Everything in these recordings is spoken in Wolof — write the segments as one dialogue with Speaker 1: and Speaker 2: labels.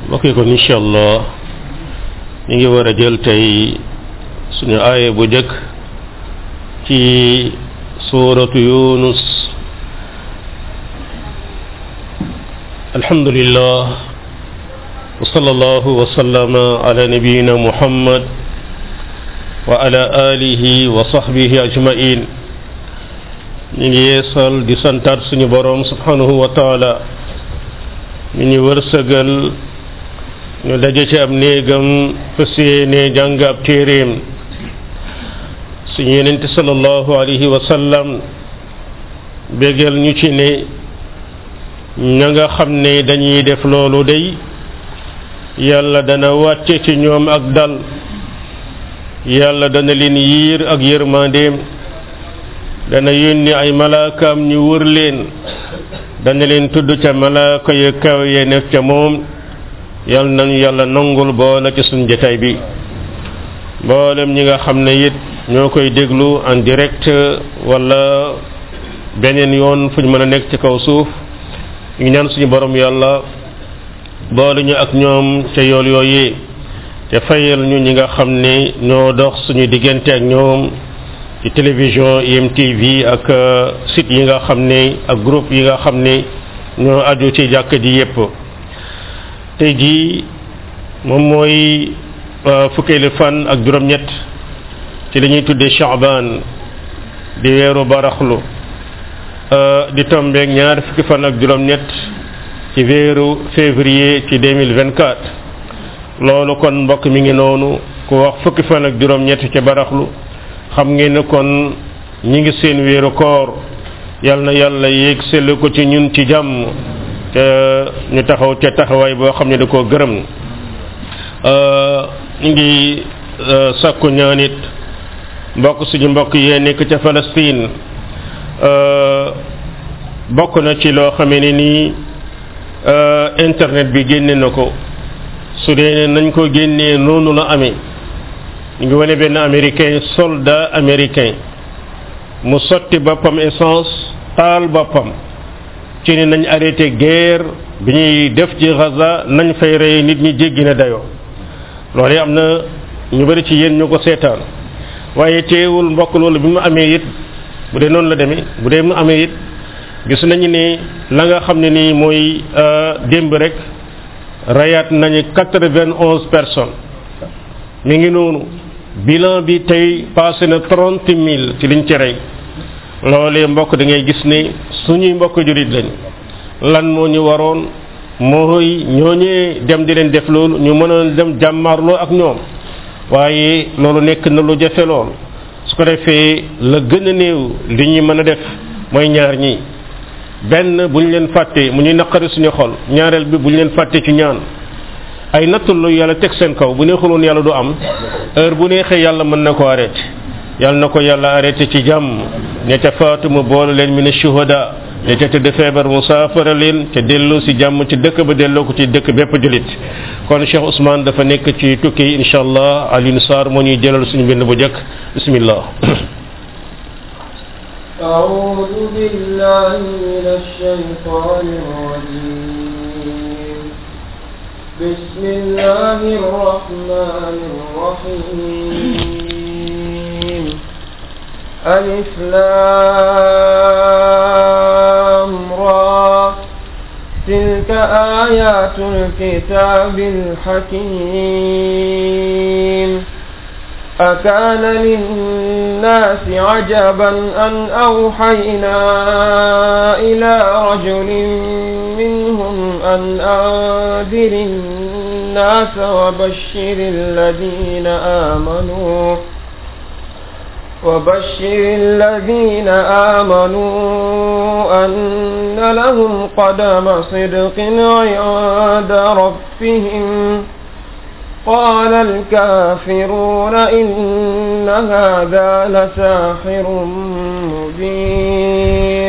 Speaker 1: mbokk yi kon incha allah ñu ngi war a jël tey suñu aaya bu jëkk ci suuratu yunus alhamdulillah wa sallallahu wa sallama ala nabiyyina muhammad wa ala alihi wa sahbihi ajmain ñu ngi yeesal di santaat suñu boroom subhanahu wa taala mi ñu wërsëgal ñu daje ci ab néegam fas yéene jàng ab téeréem suñu yenente sallallahu alayhi wa sallam bégal ñu ci ne ña nga xam ne dañuy def loolu day yàlla dana wàcce ci ñoom ak dal yàlla dana leen yiir ak yërmandeem dana yónni ay malaakaam ñu wër leen dana leen tudd ca malaaka yu kaw ye nekk ca moom yal nañu yàlla nangul boole ci suñ jotaay bi mboolem ñi nga xam ne it ñoo koy déglu en direct wala beneen yoon fu ñu mën a nekk ci kaw suuf ñu ñaan suñu borom yàlla boole ñu ak ñoom ca yool yooyee te fayal ñu ñi nga xam ne ñoo dox suñu diggante ak ñoom ci télévision IMTV ak site yi nga xam ne ak groupe yi nga xam ne ñoo aju ci jàkk ji yépp tey jii moom mooy fukkeelu fan ak juróom-ñett ci li ñuy tuddee Sha'ban di weeru baraxlu di tombeek ñaar fukki fan ak juróom-ñett ci weeru février ci 2024 loolu kon mbokk mi ngi noonu ku wax fukki fan ak juróom-ñett ci baraxlu xam ngeen ne kon ñi ngi seen weeru koor yal na yàlla yéeg sell ko ci ñun ci jàmm te ñu taxaw ca taxawaay boo xam ne da koo gërëm ñu ngi sàkku ñaanit mbokk suñu mbokk yee nekk ca Palestine bokk na ci loo xamee ne nii internet bi génne na ko su dee nañ ko génnee noonu la amee ñu ngi wane benn américain soldat américain mu sotti boppam essence taal boppam ci ne nañ arrêté guerre bi ñuy def ci Gaza nañ fay rey nit ñi jéggi na dayoo loolu am na ñu bari ci yéen ñu ko seetaan waaye teewul mbokk loolu bi mu amee it bu dee noonu la demee bu dee mu amee it gis nañu ne la nga xam ne nii mooy démb rek rayaat nañu 91 personnes mi ngi noonu bilan bi tey passé na 30 000 ci liñ ci rey loolee mbokk da ngay gis ne suñuy mbokk jurit lañ lan moo ñu waroon mooy ñooñee dem di leen def loolu ñu mën a dem jàmmaarloo ak ñoom waaye loolu nekk na lu jafe lool su ko defee la gën a néew li ñuy mën a def mooy ñaar ñi benn bu ñu leen fàtte mu ñuy naqari suñu xol ñaareel bi bu ñu leen fàtte ci ñaan ay nattul lu yàlla teg seen kaw bu neexuloon yàlla du am heure bu neexee yàlla mën na ko arrêté yàlla na ko yàlla arrêté ci jàmm ña ca faatu mu boole leen min shuhada ña ca tëdd feebar mu saafara leen te delloo si jàmm ci dëkk ba delloo ko ci dëkk bépp julit kon Cheikh Ousmane dafa nekk ci tukki yi insha allah Alioune Sarr moo ñuy jëlal suñu bind bu jëkk bismillah
Speaker 2: أعوذ بالله من الشيطان الرجيم بسم الله الرحمن الرحيم ألف لام را تلك آيات الكتاب الحكيم أكان للناس عجبا أن أوحينا إلى رجل منهم أن أنذر الناس وبشر الذين آمنوا أن لهم قدم صدق عند ربهم قال الكافرون إن هذا لساحر مبين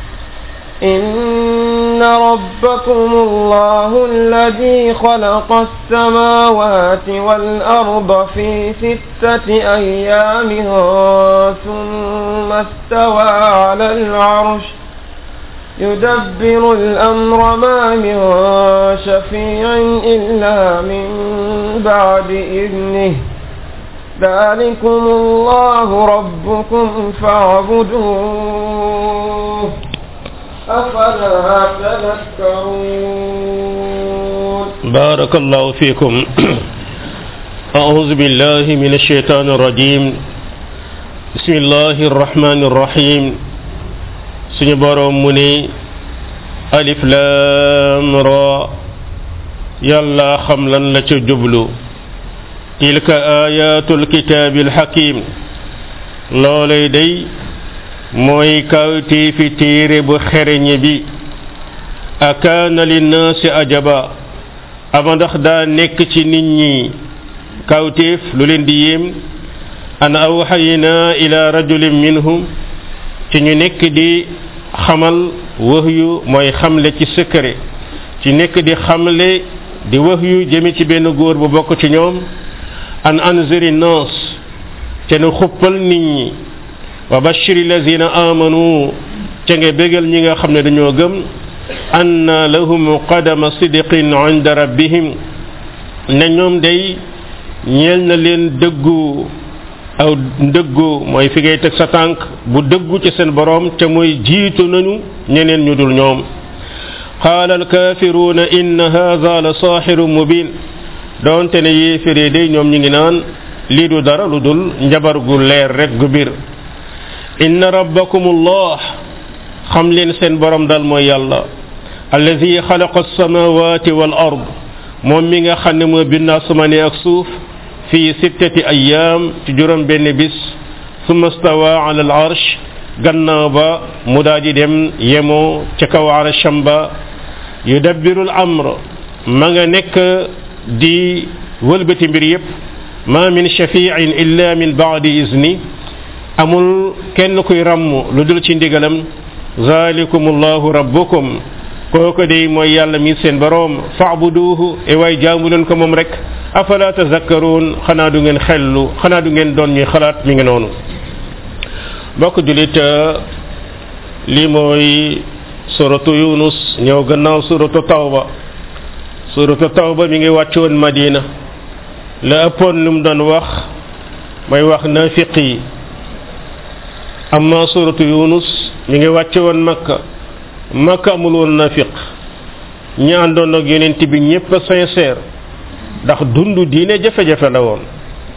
Speaker 2: إن ربكم الله الذي خلق السماوات والأرض في 6 أيام ثم استوى على العرش يدبر الأمر ما من شفيع إلا من بعد إذنه ذلكم الله ربكم فاعبدوه أفلا تذكرون
Speaker 1: بارك الله فيكم أعوذ بالله من الشيطان الرجيم بسم الله الرحمن الرحيم suñu borom mu ne alif lam ra yàlla xam lan la ca jublu tilka ayatul kitabil hakim loolay day mooy kawti fi téere bu xereñe bi akaana linnaasi ajaba ama ndax daa nekk ci nit ñi kawteef lu leen di yéem an awxayna ila rajulin minhum ci ñu nekk di xamal wahyu mooy xamle ci secret ci nekk di xamle di wahyu jëme ci benn góor bu bokk ci ñoom an anziri nas te nu xuppal nit ñi wa bashiri lazina amanu ca nga bégal ñi nga xam ne dañoo gëm anna lahum qadama sidqin inda rabbihim ne ñoom day ñeel na leen dëggu aw dëggu mooy fi ngay teg sa tànk bu dëggu ci seen borom te mooy jiitu nañu ñeneen ñu dul ñoom qaala alkaafiruuna inna haadha la saaxirun mubin doonte ne yéeféree day ñoom ñi ngi naan lii du dara lu dul njabar gu leer rek gu bir inna rabbakumullah xam leen seen borom dal mooy yàlla alladi xalaqa alsamawati wal ard moom mi nga xam ne moo bind asamaani ak suuf fi 6 ayyaam ci juróom benn bis summa stawa ala al arsh gannaaw ba mu daa di dem yemoo ca kaw arsham ba yudabbiru al amr ma nga nekk di wëlbati mbir yépp ma min shafi'in illa min ba'di izni amul kenn kuy ràmm lu dul ci ndigalam zalikumullahu rabbukum kooku de mooy yàlla mi seen boroom fa'buduhu e waay jaamu leen ko moom rek afala tazakkaruun xanaa du ngeen xellu xanaa du ngeen doon ñuy xalaat mi ngi noonu bokk julit lii mooy suratu yunus ñëw gannaaw suratu tawba mi ngi wàcc woon madina la ëppoon lu mu doon wax may wax naafiq yi amma suratu yunus mi ngi wàcc woon makka amul woon naafiq ñi àndoon ak yonent bi ñépp sincère ndax dundu diine jafe-jafe la woon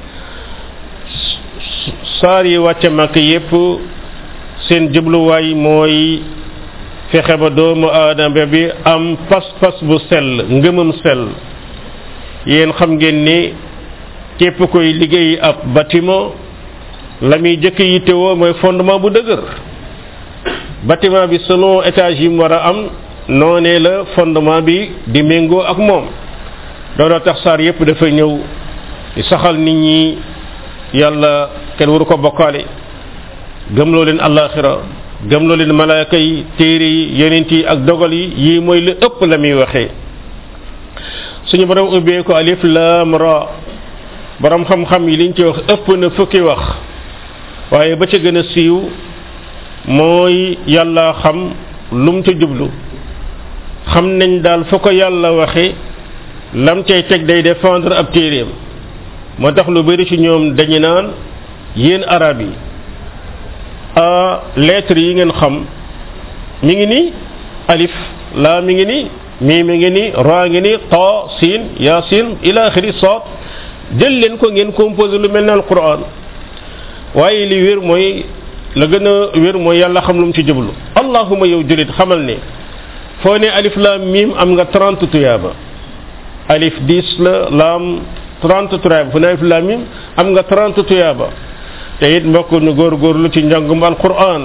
Speaker 1: saar yi wàcce makka yépp seen jubluwaay mooy fexe ba doomu aadama bi am pas-pas bu sell ngëmam sell yéen xam ngeen ni képp koy liggéey ab bâtiment la muy jëkk yittewoo mooy fondement bu dëgër bâtiment bi selon étage yi mu war a am noonee la fondement bi di méngoo ak moom looloo tax saar yépp dafa ñëw di saxal nit ñi yàlla kenn waru ko bokkaale gëmloo leen àllaaxira gëmloo leen malaaka yi téere yi yonent yi ak dogal yi yii mooy lu ëpp la muy waxee suñu borom ubbee ko alif lam ra borom xam-xam yi liñ ci wax ëpp na fukki wax waaye ba ca gën a siiw mooy yàlla xam lum ca jublu xam nañ daal fa ko yàlla waxe lam cay teg day défendre ab téeréem moo tax lu bari ci ñoom dañu naan yéen arab yi lettres yi ngeen xam mi ngi ni alif laa mi ngi ni mii mi ngi ni ra ngi ni ta siin yasin ila axiri saad jël leen ko ngeen composé lu mel ne alquran waaye li wér mooy la gën a wér mooy yàlla xam lu mu ci jublu allahuma yow julit xamal ne foo ne alif laam miim am nga 30 tuyaaba alif 10 la laam 30 tuyaaba fu ne alif laam miim am nga 30 tuyaaba te it mbokk nu góorgóorlu ci njàngum alquran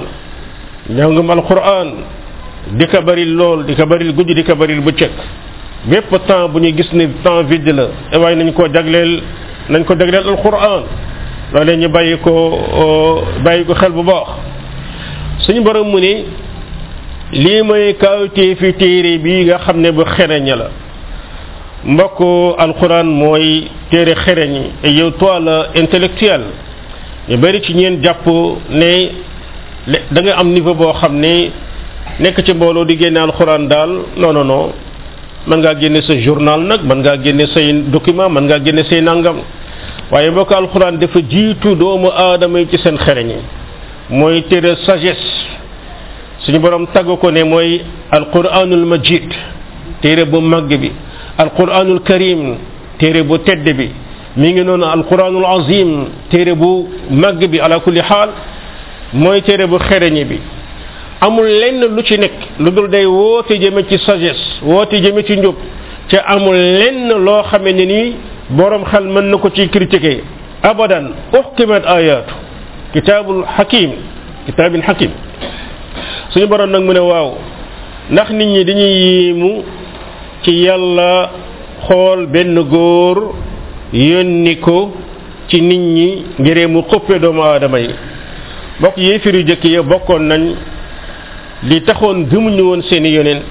Speaker 1: di ko bari lool di ko bari guddi di ko bari bëccëg bépp temps bu ñu gis ni temps vide la waaye nañ ko jagleel alquran loolee ñu bàyyi ko xel bu baax suñu borom mu ni lii mooy kawtee fi téere bi nga xam ne bu xereñ la mbokk alquran mooy téere xereñ et yow toi la intellectuel ñu bari ci ñeen jàpp ne da nga am niveau boo xam ne nekk ci mbooloo di génne alxuraan daal non mën ngaa génne sa journal nag mën ngaa génne say document mën ngaa génne say nangam waaye mbokk alxuraan dafa jiitu doomu aadama yi ci seen xereñ mooy téere sagesse suñu borom tagg ko ne mooy alquranul majid téere bu màgg bi alquranul karim téere bu tedd bi mi ngi noonu alquranul azim téere bu màgg bi ala kulli xaal mooy téere bu xereñ bi amul lenn lu ci nekk lu dul day woote jëme ci sagesse woote jëme ci njub ca amul lenn loo xame ne nii borom xel mën na ko ci critiquer abadan uhkimat ayatu kitaabul kitaabin hakim suñu borom nag mu ne waaw ndax nit ñi dañuy yéemu ci yàlla xool benn góor yónni ko ci nit ñi ngir mu xuppe doomu aadama yi bokk yéefir yu jëkk ya bokkoon nañ li taxoon gëmuñu woon seeni yonent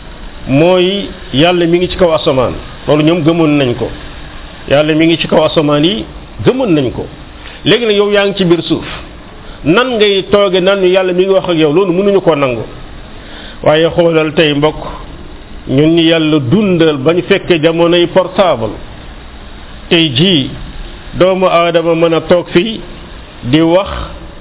Speaker 1: mooy yàlla mi ngi ci kaw asamaan loolu ñoom gëmoon nañ ko yàlla mi ngi ci kaw asamaan yi gëmoon nañ ko léegi nag yow yaa ngi ci biir suuf nan ngay tooge nan yàlla mi ngi wax ak yow loolu mënuñu koo nangu waaye xoolal tey mbokk ñun ñi yàlla dundal ba ñu fekkee jamonoy portable tey jii doomu aadama mën a toog fii di wax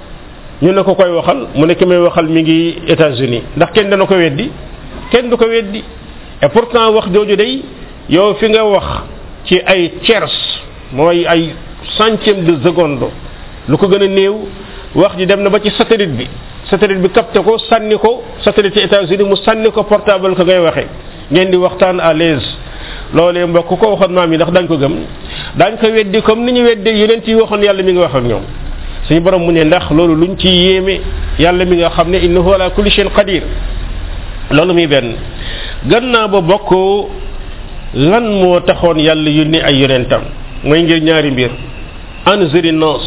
Speaker 1: ñu ne ko koy waxal mu ne ki may waxal mi ngi États-Unis ndax kenn dana ko weddi kenn du ko weddi et pourtant wax jooju day yow fi nga wax ci ay tiers mooy ay centième de seconde lu ko gën a néew wax ji dem na ba ci satellite bi capté ko sànni ko satellite ci États-Unis mu sànni ko portable ko ngay waxee ngeen di waxtaan à l'aise loolee mbokk ko waxoon maam yi ndax dañ ko gëm dañ ko weddi comme ni ñu weddee yeneen ci waxoon yàlla mi ngi wax ak ñoom suñu borom mu ne ndax loolu luñ ci yéeme yàlla mi nga xam ne innahu ala kulli shay'in qadir loolu muy benn gannaaw ba bokk lan moo taxoon yàlla yónni ay yonentam mooy ngir ñaari mbir anziri nas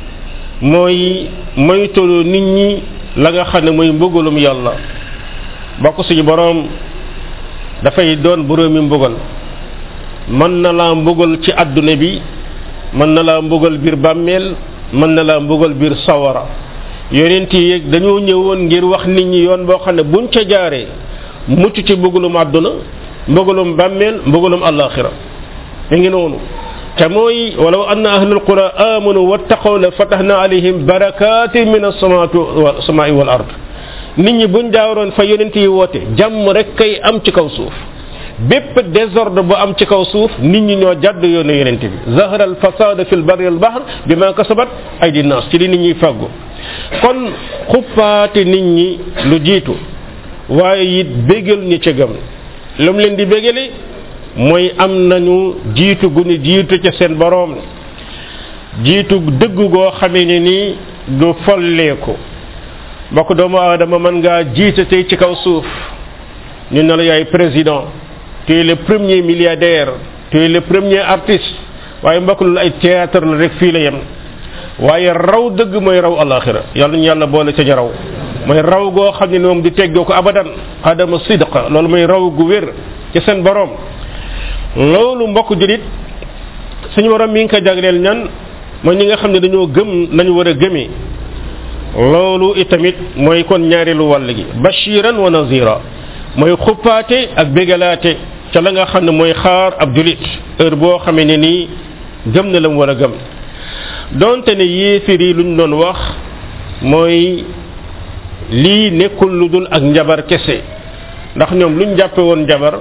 Speaker 1: mooy moytulu nit ñi la nga xam ne mooy mbugalum yàlla bokk suñu borom dafay doon boroomi mbugal mën na laa mbugal ci àdduna bi mën na laa mbugal biir bàmmeel mën na laa mbugal biir sawara yonent yi dañoo ñëwoon ngir wax nit ñi yoon boo xam ne buñ ca jaaree mucc ci mbugalum àdduna mbugalum bàmmeel mbugalum àllaaxira mi ngi noonu te mooy walaw anna ahlul qura amanu wattaqaw la fatahna alayhim barakatin min as-samaa'i wal ard nit ñi buñ jaaroon fa yonent yi woote jàmm rek kay am ci kaw suuf bépp désordre bu am ci kaw suuf nit ñi ñoo jàdd yoonu yonent bi zahara al fasada fil barri wal bahr bima kasabat aydi nas ci li nit ñi fàggu kon xuppaate nit ñi lu jiitu waaye it bégal ñi ca gëm lu mu leen di bégale mooy am nañu jiitu gu ñu jiitu ca seen boroom jiitu dëgg goo xamee ne ni du folleeku bokk doomu aadama mën ngaa jiite tey ci kaw suuf ñu ne la yaay président tu es le premier milliardaire tu es le premier artiste waaye mbokk lu ay théâtre la rek fii la yem waaye raw dëgg mooy raw alaxira yàlla ñu yàlla boole ca ñu raw mooy raw goo xam ne moom di teggoo ko abadan adama sidqa loolu mooy raw gu wér ci seen borom loolu mbokk julit suñu borom mi ngi ko jagleel ñan mooy ñi nga xam ne dañoo gëm nañu war a gëmee loolu itamit mooy kon ñaareelu wàll gi bashiran wa nazira mooy xuppaate ak bégalaate ca la nga xam ne mooy xaar ab julit heure boo xamee ne nii gëm na la mu war a gëm donte ne yéefir yi luñ doon wax mooy lii nekkul lu dul ak njabar kese ndax ñoom luñ jàppe woon njabar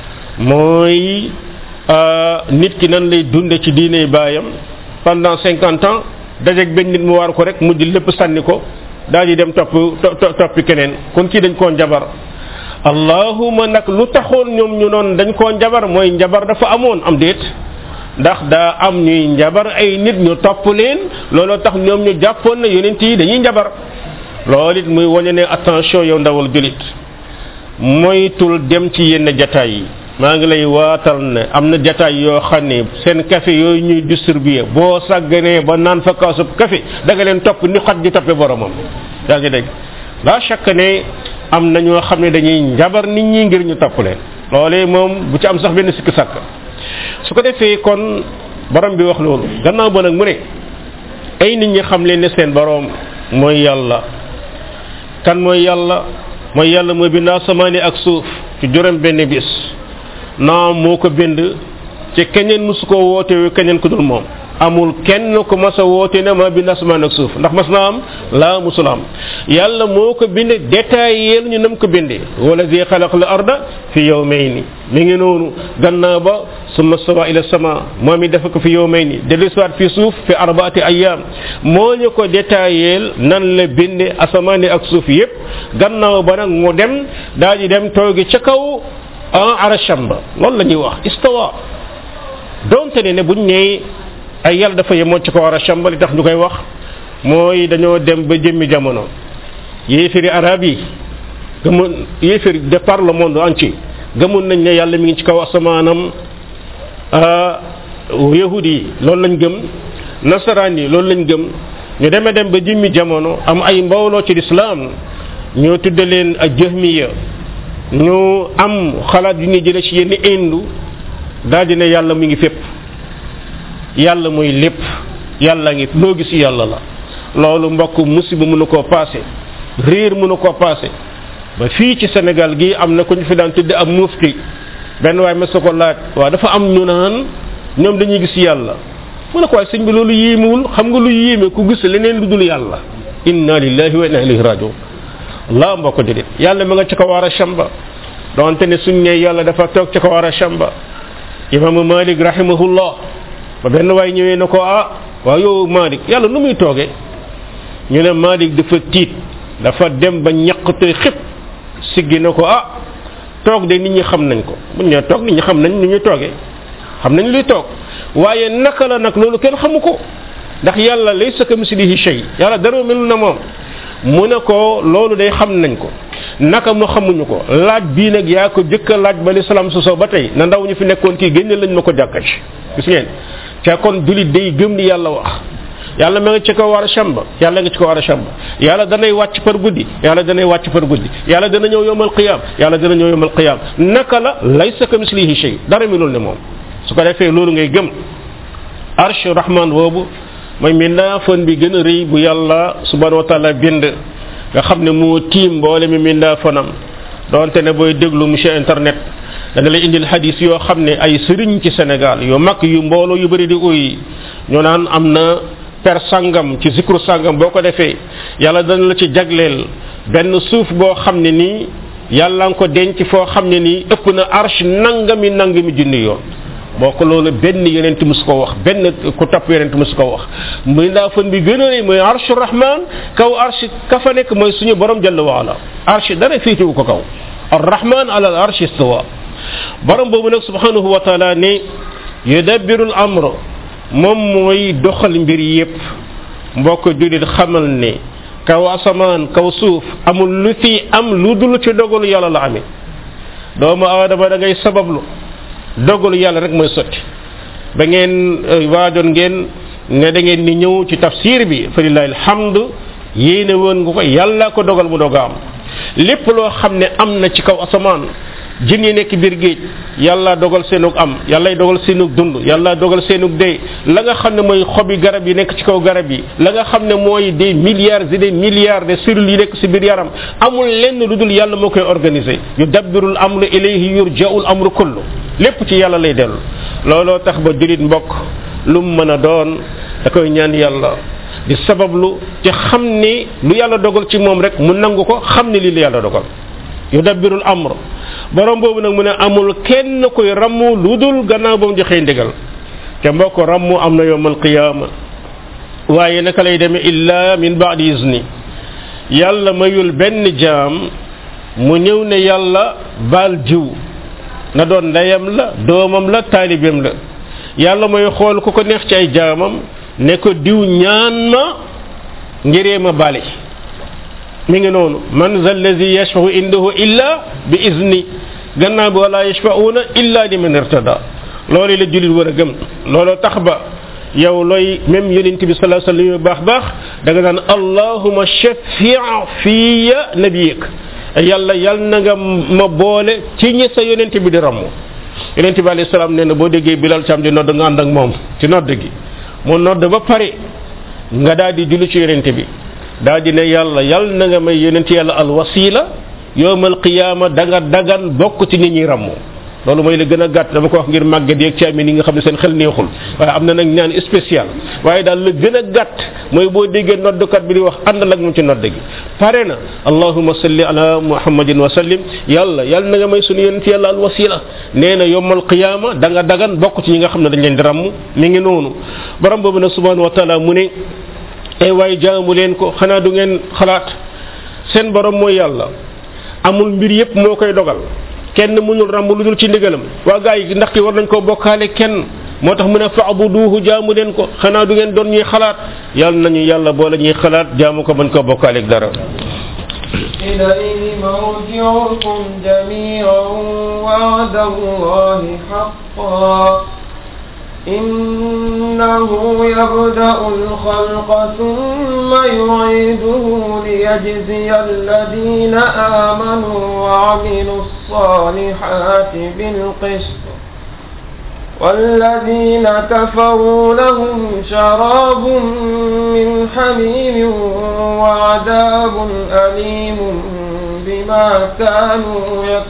Speaker 1: mooy nit ki nan lay dunde ci diine baayam pendant 50 ans dajeeg benn nit mu war ko rek mujj lépp sànni ko daal di dem toppi keneen kon kii dañ koo njabar allahuma nag lu taxoon ñoom ñu noon dañ koo njabar mooy njabar dafa amoon am déet ndax daa am ñuy njabar ay nit ñu topp leen looloo tax ñoom ñu jàppoon na yonent yi dañuy njabar loolu it muy wane ne attention yow ndawal julit moytul dem ci yenn jataay yi maa ngi lay waatal ne am na jataay yoo xam ne seen café yooyu ñuy distribuer boo sàgganee ba naan fa kaasub café da nga leen topp ni xaj di toppe boromam yaa ngi dégg la chaque ne am na ñoo xam ne dañuy njabar nit ñi ngir ñu topp leen loolee moom bu ci am sax benn sikk sàkk su ko defee kon borom bi wax loolu gannaaw ba nag mu ne ay nit ñi xam leen ne seen borom mooy yàlla kan mooy yàlla mooy yàlla mooy bind asamaani ak suuf ci juróom benn bis naam moo ko bind ci keneen musu ko woote keneen ku dul moom amul kenn ko mas a woote ne ma bind asamaan ak suuf ndax mas na am laa musul am yàlla moo ko bind détaillé ñu nam ko bindee wala zi xalaq al arda fi yawmayni mi ngi noonu gannaaw ba summa stawa ila sama moom it dafa ko fi yawmayni dellusiwaat fi suuf fi arbaati ayyam moo ñu ko détaillé nan la binde asamaan ak suuf yépp gannaaw ba nag mu dem daal di dem toogi ca kaw arasham ba loolu la ñuy wax istawa donte ne buñ nee ay yàlla dafa yemoon ci ko arasham ba li tax ñu koy wax mooy dañoo dem ba jëmmi jamono yéefiri arab yi gëmoon yéefiri de par le monde entier gëmoon nañ ne yàlla mi ngi ci kaw asamaanam yahudi yi loolu lañ gëm nasaraan yi loolu lañ gëm ñu demee dem ba jëmmi jamono am ay mbooloo ci lislaam ñoo tudde leen ak jahmiya ñu am xalaat yu ñu jële ci yenn indu daal di ne yàlla mu ngi fépp yàlla mooy lépp yàlla ngi loo gis yàlla la loolu mbokk musiba mënu koo passé réer mënu koo passé ba fii ci Sénégal gi am na ku ñu fi daan tudde am mufti benn waay ma sa ko laaj waaw dafa am ñu naan ñoom dañuy gis yàlla mu ne ko waaye sëñ bi loolu yéemewul xam nga lu yéeme ku gis leneen lu dul yàlla inna lillahi wa inna ilayhi rajiun laa mbokk déedéet yàlla ma nga ci kaw arasham ba donte ne suñ ne yàlla dafa toog ci kaw arasham ba imaamu Malik rahimahullah ba benn waay ñëwee na ko waaw yow Malik yàlla nu muy toogee ñu ne Malik dafa tiit dafa dem ba ñaqte xëpp siggi na ko toog de nit ñi xam nañ ko buñ ne toog nit ñi xam nañ ni ñuy toogee xam nañ luy toog waaye naka la nag loolu kenn xamu ko ndax yàlla laysa kamislihi shay yàlla dara melul na moom mu ne ko loolu day xam nañ ko naka mu xamuñu ko laaj bii nag yaa ko jëkk a laaj ba lislaam sosoo ba tey na ndaw ñu fi nekkoon kii génne lañ ma ko jàkka ci gis ngeen ca kon julit day gëm li yàlla wax yàlla ma nga ci kaw arsham ba yàlla nga ci kaw arsham ba yàlla danay wàcc par guddi yàlla danay wàcc par guddi yàlla dana ñëw yowmal qiyam yàlla dana ñëw yowmal qiyam naka la laysa kamislihi shay dara melul ne moom su ko defee loolu ngay gëm arsh rahman boobu mooy mindaafon bi gën a rëy bu yàlla subhanahu wa taala bind nga xam ne moo tiim mboole mi mindaafonam donte ne booy déglu monsieur internet dana lay indil hadis yoo xam ne ay sëriñ ci Sénégal yu mag yu mbooloo yu bëri di uy ñu naan am na per sangam ci zikru sangam boo ko defee yàlla dana la ci jagleel benn suuf boo xam ne nii yàlla nga ko denc foo xam ne nii ëpp na arsh nangami junni yoon boo ko loolu benn yonent musu ko wax benn ku topp yonent musu ko wax muy ndaa fan bi gën a rëy mooy arshu rahman kaw arsh ka fa nekk mooy suñu borom jalla waala arsh dara féetewu ko kaw arrahman ala al arsh istawa borom boobu nag subhanahu wa taala ne yudabbiru al amr moom mooy doxal mbir yépp mbokk julit xamal ne kaw asamaan kaw suuf amul lu fi am lu dul ci dogalu yàlla la amee doomu aadama da ngay sabablu dogalu yàlla rek mooy sotti ba ngeen waajoon ngeen ne da ngeen ni ñëw ci tafsir bi fa lillahi alhamdu yéene woon nga ko yàlla ko dogal mu doga am lépp loo xam ne am na ci kaw asamaan jën yi nekk biir géej yàlla dogal seenug am yàllay dogal seenug dund yàlla dogal seenug dee la nga xam ne mooy xobi garab yi nekk ci kaw garab yi la nga xam ne mooy des milliards et des milliards de cellules yi nekk ci biir yaram amul lenn lu dul yàlla moo koy organiser yudabbirul amru ilayhi yurja'ul amru kullu lépp ci yàlla lay dellu looloo tax ba julit mbokk lu mu mën a doon da koy ñaan yàlla di sabablu ci xam ne lu yàlla dogal ci moom rek mu nangu ko xam ne lii la yàlla dogal yudabbirul amr borom boobu nag mu ne amul kenn koy rammu lu dul gannaaw ba mu joxee ndigal te mbokk rammu am na yawmal qiyaama waaye naka lay demee illa min ba'di izni yàlla mayul benn jaam mu ñëw ne yàlla baal jiw na doon ndeyam la doomam la taalibeem la yàlla mooy xool ku ko neex ci ay jaamam ne ko diw ñaan ma ngiree ma bale mi ngi noonu man zal ladhi yashfa'u indahu illa bi izni gannaaw bi wala yashfa'una illa liman irtada loolu la julit war a gëm loolu tax ba yow looy même yonent bi sallallahu alayhi wa sallam baax da nga naan allahumma shaffi' fiya nabiyik yàlla yal na nga ma boole ci ñi sa yonent bi di ramm yonent bi alayhi salaam nee na boo déggee Bilal Cam di nodd nga ànd ak moom ci nodd gi mu nodd ba pare nga daal di julli ci yonent bi daal di ne yàlla yal na nga may yonent yàlla al wasila yowmal qiyaama da nga dagan bokk ci nit ñi rammu loolu mooy la gën a gàtt dama ko wax ngir màggat yeeg caamin yi nga xam ne seen xel neexul waaye am na nag ñaan spécial waaye daal la gën a gàtt mooy boo déggee noddukat bi di wax àndal ak moom ci nodd gi pare na allahumma salli ala muhammadin wa sallim yàlla na nga may sunu yonent yàlla al wasila nee na yowmal qiyaama da nga dagan bokk ci ñi nga xam ne dañ leen di ramm mi ngi noonu borom boobu nag subhanahu wa taala mu ne ay waay jaamu leen ko xanaa du ngeen xalaat seen borom mooy yàlla amul mbir yépp moo koy dogal kenn mënul ramb lu dul ci ndigalam waa gaa yi ndax ki war nañ koo bokkaale kenn moo tax mu ne fa'buduhu jaamu leen ko xanaa du ngeen doon ñuy xalaat yàlla nañu yàlla boole ñuy xalaat jaamu ko bañ koo bokkaale ak dara
Speaker 2: إليه مرجعكم جميعا وعد الله حقا إنه يبدأ الخلق ثم يعيده ليجزي الذين آمنوا وعملوا الصالحات بالقسط والذين كفروا لهم شراب من حميم وعذاب أليم بما كانوا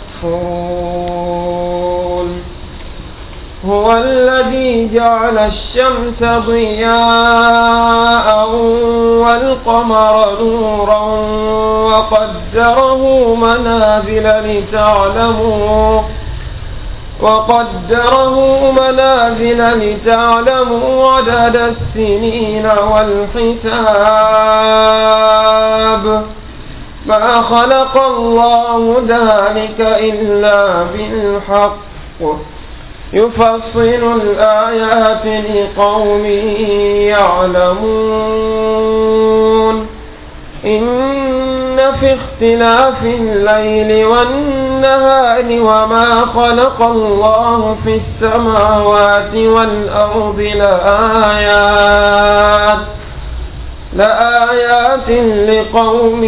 Speaker 2: يكفرون هو الذي جعل الشمس ضياء والقمر نورا وقدره منازل لتعلموا عدد السنين والحساب ما خلق الله ذلك إلا بالحق يفصل الآيات لقوم يعلمون إن في اختلاف الليل والنهار وما خلق الله في السماوات والأرض لآيات لقوم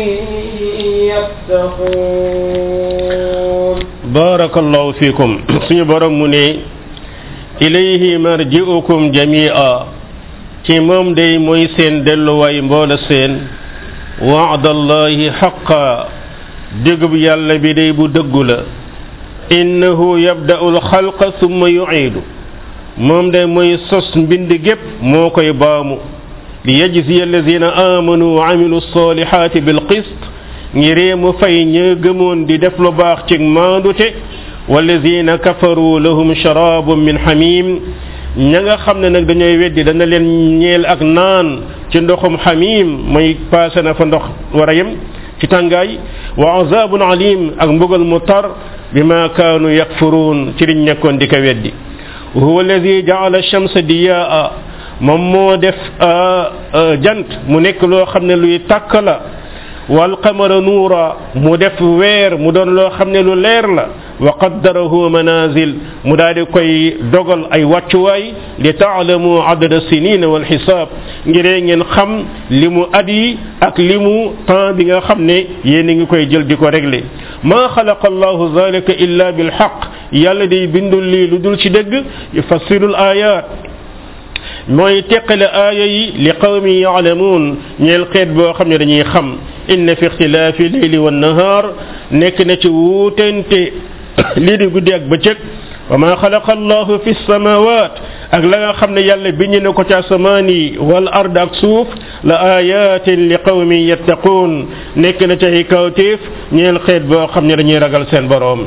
Speaker 2: يتقون
Speaker 1: بارك الله فيكم سني borom mu ne ilayhi marji'ukum jami'a ci moom day mooy seen delluwaay mboola seen wa'dallahi haqqa dëggub yàlla bi day bu dëggu la innahu yabda'ul xalqa thumma yu'idu moom day mooy sos mbind gépp moo koy baamu li yajziya allazina amanu wa amilu salihati bil qist ngiree mu fay ña gëmoon di def lu baax ci maandute wallazina kafaru lahum sharabun min hamim ña nga xam ne nag dañooy weddi dana leen ñeel ak naan ci ndoxum hamim mooy passé na fa ndox war a yem ci tàngaay wa azabun alim ak mbugal mu tar bima kaanu yakfurun ci liñ nekkoon di ko weddi huwa allazi ja'ala ash-shamsa diyaa moom moo def jant mu nekk loo xam ne luy tàkk la wal qamara nuura mu def weer mu doon loo xam ne lu leer la wa qaddarahu manazil mu daal di koy dogal ay wàccuwaay li taalamu adada sinina wal xisaab ngiree ngeen xam li mu at yi ak li mu temps bi nga xam ne yéen a ngi koy jël di ko régler maa xalaqa allahu zalika illa bil haqq yàlla day bindul lii lu dul ci dëgg yufassirul ayat mooy teqale aaya yi li qawmi yaalamuun ñeel xeet boo xam ne dañuy xam inna fi ixtilaafi leyli wa nahaar nekk na ci wuutente lii di guddi ak bëccëg wa ma xalaqa allahu fi samawat ak la nga xam ne yàlla bind na ko ci asamaan yi wal ard ak suuf la ayatin li qawmin yattaquun nekk na ci ay kawtéef ñeel xeet boo xam ne dañuy ragal seen boroom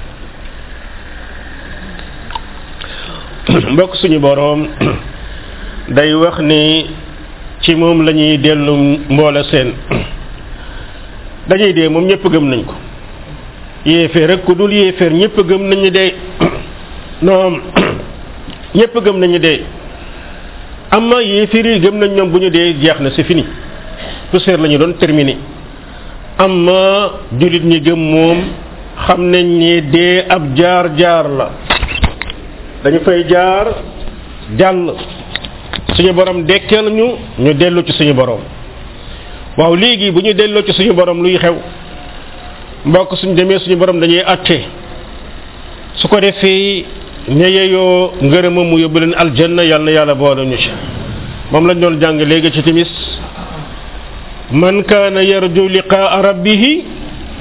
Speaker 1: mbokk suñu boroom day wax ni ci moom la ñuy dellu mboola seen dañuy dee moom ñëpp gëm nañ ko yéeféer rek ku dul yéeféer ñëpp gëm nañu dee non ñëpp gëm nañu dee amma yéeféer yi gëm nañ ñoom bu ñu dee jeex na c'est fini poussière la ñu doon terminé amma jullit ñi gëm moom xam nañ ni dee ab jaar-jaar la dañu fay jaar jàll suñu borom dekkal ñu dellu ci suñu borom waaw léegi bu ñu delloo ci suñu borom luy xew mbokk suñu demee suñu borom dañuy atte su ko defee ña yeyoo ngërëma mu yóbbu leen aljanna yàlla na yàlla boole ñu ci moom lañ doon jàng léegi ci timis man kaana yarju liqaa rabbihi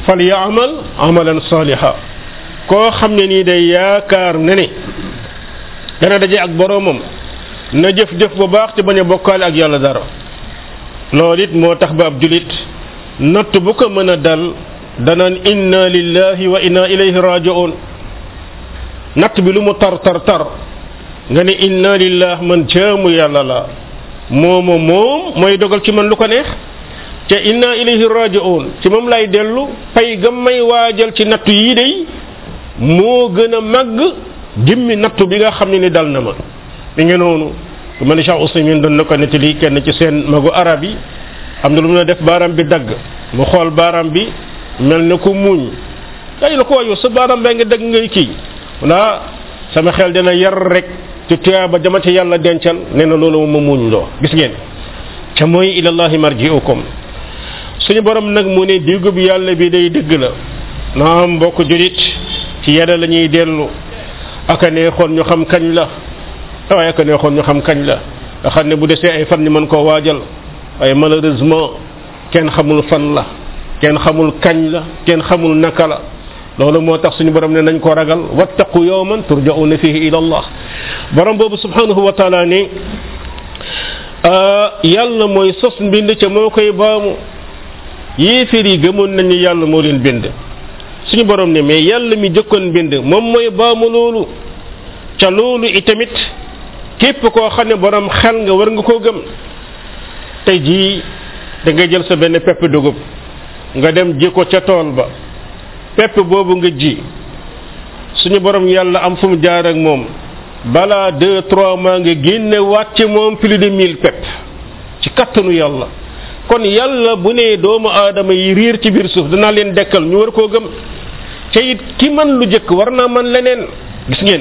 Speaker 1: fal ya'mal amalan saliha koo xam ne nii day yaakaar ne ne dana daje ak boroomam na jëf-jëf bu baax te bañ a bokkaale ak yàlla dara loolu it moo tax ba ab julit natt bu ko mën a dal danaan inna lillahi wa inna ilayhi raji'un natt bi lu mu tar nga ne inna lillah man jaamu yàlla la moom mooy dogal ci man lu ko neex te inna ilayhi raji'un ci moom lay dellu pay ga may waajal ci nattu yii day moo gën a màgg jëmmi nattu bi nga xam ne ni dal na ma mi ngi noonu ku mel ni Cheikh Ousmane doon na ko nettali kenn ci seen magu arab yi am na lu mu def baaraam bi dagg mu xool baaraam bi mel na ko muuñ ay la ko wayu sa baaraam baa ngi dagg ngay kii wala sama xel dina yar rek ci tuyaaba jamate yàlla dencal nee na loolu ma muuñ loo gis ngeen ca mooy ilallahi marji'ukum suñu borom nag mu ne diggu bi yàlla bi day dëgg la naam mbokk julit ci yàlla la ñuy dellu aka neexoon ñu xam kañ la waaye aka neexoon ñu xam kañ la nga xam ne bu desee ay fan ñu mën koo waajal waaye malheureusement kenn xamul fan la kenn xamul kañ la kenn xamul naka la loolu moo tax suñu borom ne nañ ko ragal wattaqu yawman turja'una fihi ila Allah borom boobu subhanahu wa ta'ala ni yàlla mooy sos mbind ca moo koy baamu yéeféer yi gëmoon nañu yàlla moo leen bind suñu borom ne mais yàlla mi jëkkoon bind moom mooy baamu loolu ca loolu itamit képp koo xam ne borom xel nga war nga koo gëm tey jii da ngay jël sa benn pepp dugub nga dem ji ko ca tool ba pepp boobu nga ji suñu borom yàlla am fu mu jaar ak moom balaa 2-3 mois nga génne wàcc moom plus de 1000 pepp ci kattanu yàlla kon yàlla bu ne doomu aadama yi riir ci biir suuf danaa leen dekkal ñu war koo gëm te it ki man lu jëkk war naa man leneen gis ngeen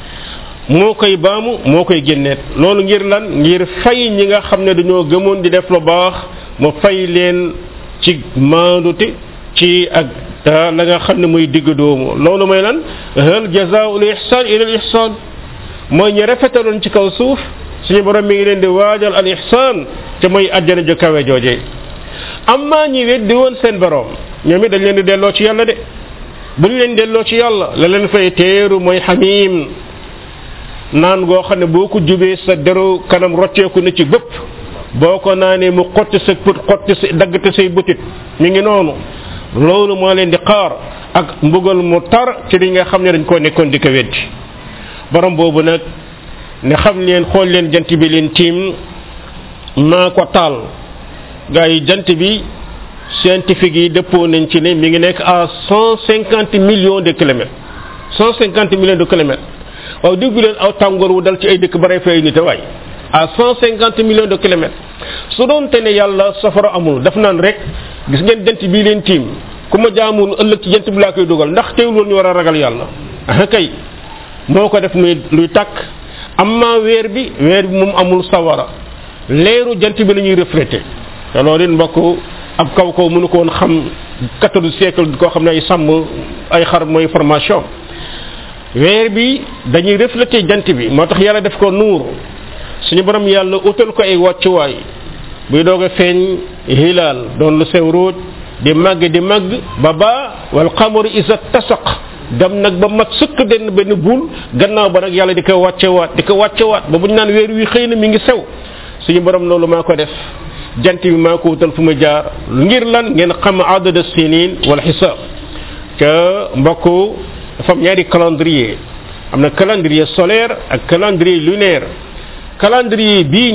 Speaker 1: moo koy baamu moo koy génneet loolu ngir lan ngir fay ñi nga xam ne dañoo gëmoon di def lu baax mu fay leen ci maandute ci ak la nga xam ne muy digg doomu loolu mooy lan hal jazaa'ul ihsan ila al ihsan mooy ñu rafetaloon ci kaw suuf suñu borom mi ngi leen di waajal al ihsan te mooy àjjana ju kawe jooje amma ñi weddi woon seen borom ñoom it dañ leen di delloo ci yàlla de bu ñu leen delloo ci yàlla la leen fay teeru mooy xamiim naan goo xam ne boo ko jubee sa deru kanam rocceeku na ci bëpp boo ko naanee mu xotti sa put xotti sa daggate say butit mi ngi noonu loolu moo leen di xaar ak mbugal mu tar ci li nga xam ne dañ koo nekkoon di ko weddi borom boobu nag ne xam leen xool leen jant bi leen tiim maa ko taal gars yi jant bi scientifique yi dëppoo nañ ci ne mi ngi nekk à 150 millions de kilomètres 150 millions de kilomètres waaw déggu leen aw tàngoor wu dal ci ay dëkk bare fay nit waay à 150 millions de kilomètres su doon te ne yàlla safara amul daf naan rek gis ngeen jant bii leen tiim ku ma jaamul ëllëg ci jant bi laa koy dugal ndax teewul woon ñu war a ragal yàlla ah kay moo ko def muy luy tàkk amma weer bi moom amul sawara leeru jant bi la ñuy reflété te loolu it mbokk ab kaw mënu ko woon xam 14 siècle koo xam ne ay sàmm ay xar mooy formation weer bi dañuy reflété jant bi moo tax yàlla def ko nuur suñu borom yàlla utal ko ay wàccuwaay buy doog a feeñ hilaal doon lu sew róoj di màgg ba wal qamaru isa tasaq dem nag ba mat sëkk benn buul gannaaw ba nag yàlla di ko wàccewaat ba bu ñu naan weer wi xëy na mi ngi sew suñu borom loolu maa ko def jant bi maa ko wutal fu mu jaar ngir lan ngeen xam adada sinin wal xisaab ca mbokk dafa am ñaari calendrier am na calendrier solaire ak calendrier lunaire calendrier bii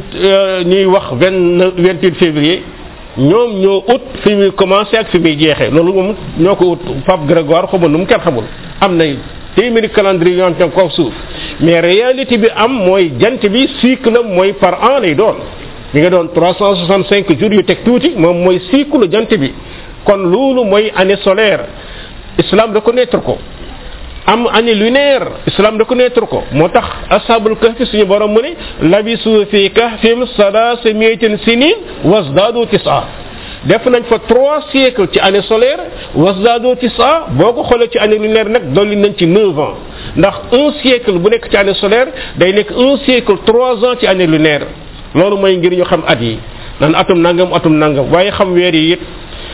Speaker 1: ñuy wax 28 février ñoom ñoo ut fi muy commencé ak fi muy jeexee loolu moom ñoo ko ut Pape Grégoire xaw ma nu mu kenn xamul am na téeméeri calendrier yoo xam ne kaw suuf mais réalité bi am mooy jant bi cycle am mooy par an lay doon mi nga doon 365 jours yu teg tuuti moom mooy cycle jant bi kon loolu mooy année solaire islam reconnaître ko am année lunaire islam reconnaître ko moo tax ashabul kahfi suñu borom mu ne labisu fi kahfim salaasa miatin sinin wasdadu tisa def nañ fa 3 siècles ci année solaire wasdadu tisa boo ko xoolee ci année lunaire nag dolli nañ ci 9 ans ndax 1 siècle bu nekk ci année solaire day nekk 1 siècle 3 ans ci année lunaire loolu mooy ngir ñu xam at yi naan atum nangam waaye xam weer yi it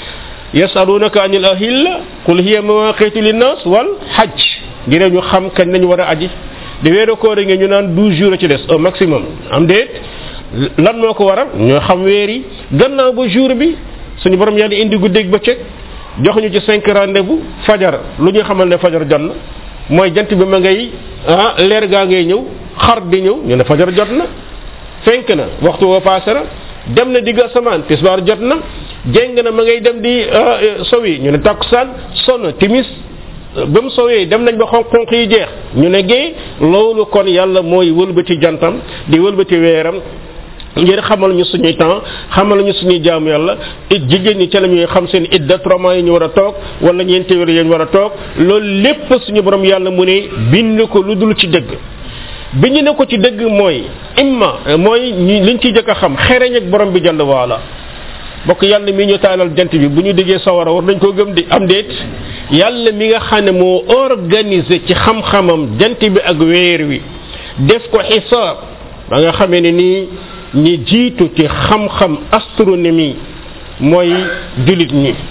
Speaker 1: yasalunaka anil ahilla qul hiya mawaqitu linnas wal hajj ngir ñu xam kañ lañu war a aji di weeru koor nga ñu naan 12 jours ci des au maximum am déet lan moo ko waral ñoo xam weer yi gannaaw ba jour bi suñu borom yàlla indi guddeeg bëccëg jox ñu ci 5 rendez-vous fajar lu ñu xamal ne fajar jot na mooy jant bi ma ngay leer gaa ngay ñëw xar di ñëw ñu ne fajar jot na fenk na waxtu woo passé na dem na digg asamaan tisbaar jot na jéng na ma ngay dem di sowi ñu ne takkusaan sonn timis ba mu sowee dem nañ ba xonq yi jeex ñu ne gée loolu kon yàlla mooy wëlbati jantam di wëlbati weeram ngir xamal ñu suñuy temps xamal ñu suñuy jaamu yàlla jigéen ñi ca la ñuy xam seen idda 3 mois yi ñu war a toog wala ñeenti weer yi ñu war a toog loolu lépp suñu borom yàlla mu ne bind ko lu dul ci dëgg bi ñu ne ko ci dëgg mooy imma mooy liñ ciy jëkk a xam xereñ ak borom bi jàll waala bokk yàlla mi ñu taalal jant bi bu ñu déggee sawara war nañ koo gëm di am déet yàlla mi nga xam ne moo organisé ci xam-xamam jant bi ak weer wi def ko xisaab ba nga xamee ne nii ñi jiitu ci xam-xam astronomie mooy jullit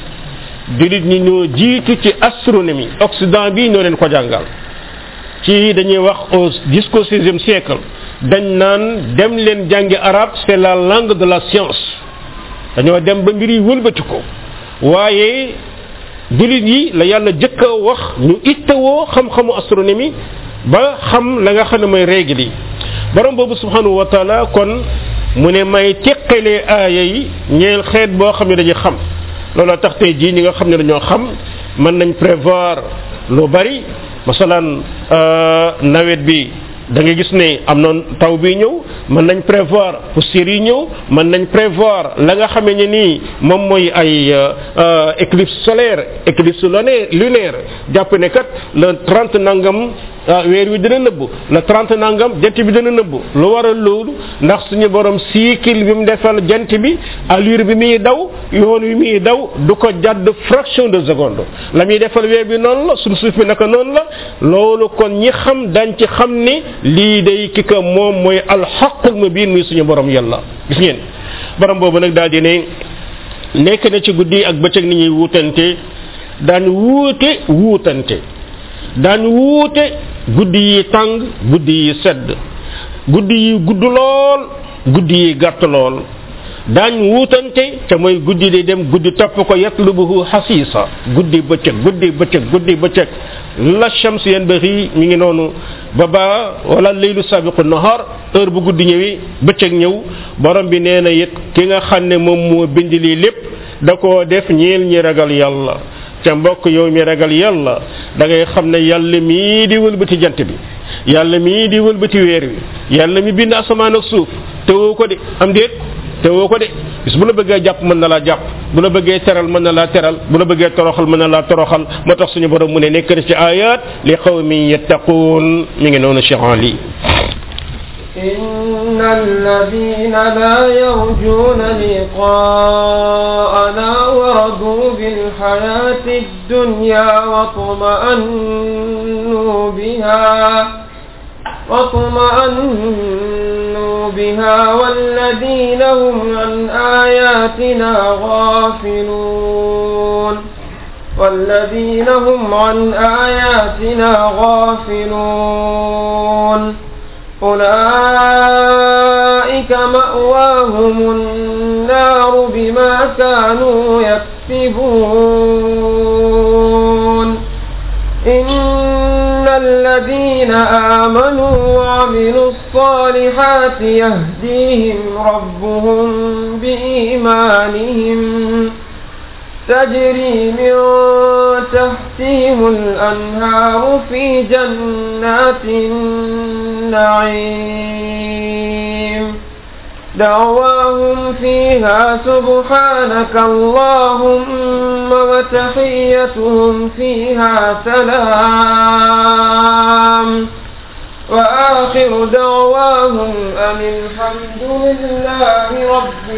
Speaker 1: ñi ñoo jiitu ci astronomie Occident bi ñoo leen ko jàngal ci dañuy wax jusqu'au 16e siècle dañ naan dem leen jàngi arabe c'est la langue de la science dañoo dem ba mbir yi wëlbati ko waaye jullit yi la yàlla jëkk a wax ñu ittewoo xam-xamu astronomie ba xam la nga xam ne mooy règle yi borom boobu subhanahu wa taala kon mu ne may teqalee aaya yi ñeel xeet boo xam ne dañuy xam looloo tax tey jii ñi nga xam ne dañoo xam mën nañ prévoir lu bari masalan nawet bi da nga gis ne am na taw bi ñëw mën nañ prévoir poussière yi ñëw mën nañ prévoir la nga xamee ne nii moom mooy ay éclipse solaire éclipse lunaire jàpp ne kat le 30 nangam weer wi dina nëbb le 30 nangam jant bi dina nëbb lu waral loolu ndax suñu borom cycle bi mu defal jant bi allure bi muy daw yoon wi muy daw du ko jàdd fraction de seconde la muy defal weer bi noonu la suñu suuf bi naka noonu la loolu kon ñi xam dañ ci xam ne lii day ki ko moom mooy alxaqul mubin muy suñu borom yàlla gis ngeen borom boobu nag daal di ne nekk na ci guddi ak bëccëg ni ñuy wuutante daan wuutante guddi yi tàng guddi yi sedd guddi yi gudd lool guddi yi gàtt lool daañ wuutante te mooy guddi di dem guddi topp ko yatlubuhu xasiisa guddi bëccëg la shams yanbaghi mi ngi noonu ba wala laylu sabiqu nahar heure bu guddi ñëwi bëccëg ñëw borom bi nee na it ki nga xam ne moom moo bind lii lépp da koo def ñeel ñi ragal yàlla te mbokk yow mi ragal yàlla da ngay xam ne yàlla mii di wëlbati jant bi yàlla mii di wëlbati weer wi yàlla mi bind asamaan ak suuf tewoo ko de am déet tewoo ko de bis bu la bëggee jàpp mën na laa jàpp bu la bëggee teral mën na laa teral bu la bëggee toroxal mën na laa toroxal moo tax suñu borom mu ne nekk na ci ayat li qawmin yattaquun mi ngi noonu Cheikh Ali
Speaker 2: إن الذين لا يرجون لقاءنا ورضوا بالحياة الدنيا واطمأنوا بها والذين هم عن آياتنا غافلون أولئك مأواهم النار بما كانوا يكسبون إن الذين آمنوا وعملوا الصالحات يهديهم ربهم بإيمانهم تجري من تحتهم الأنهار في جنات النعيم دعواهم فيها سبحانك اللهم وتحيتهم فيها سلام وآخر دعواهم أن الحمد لله رب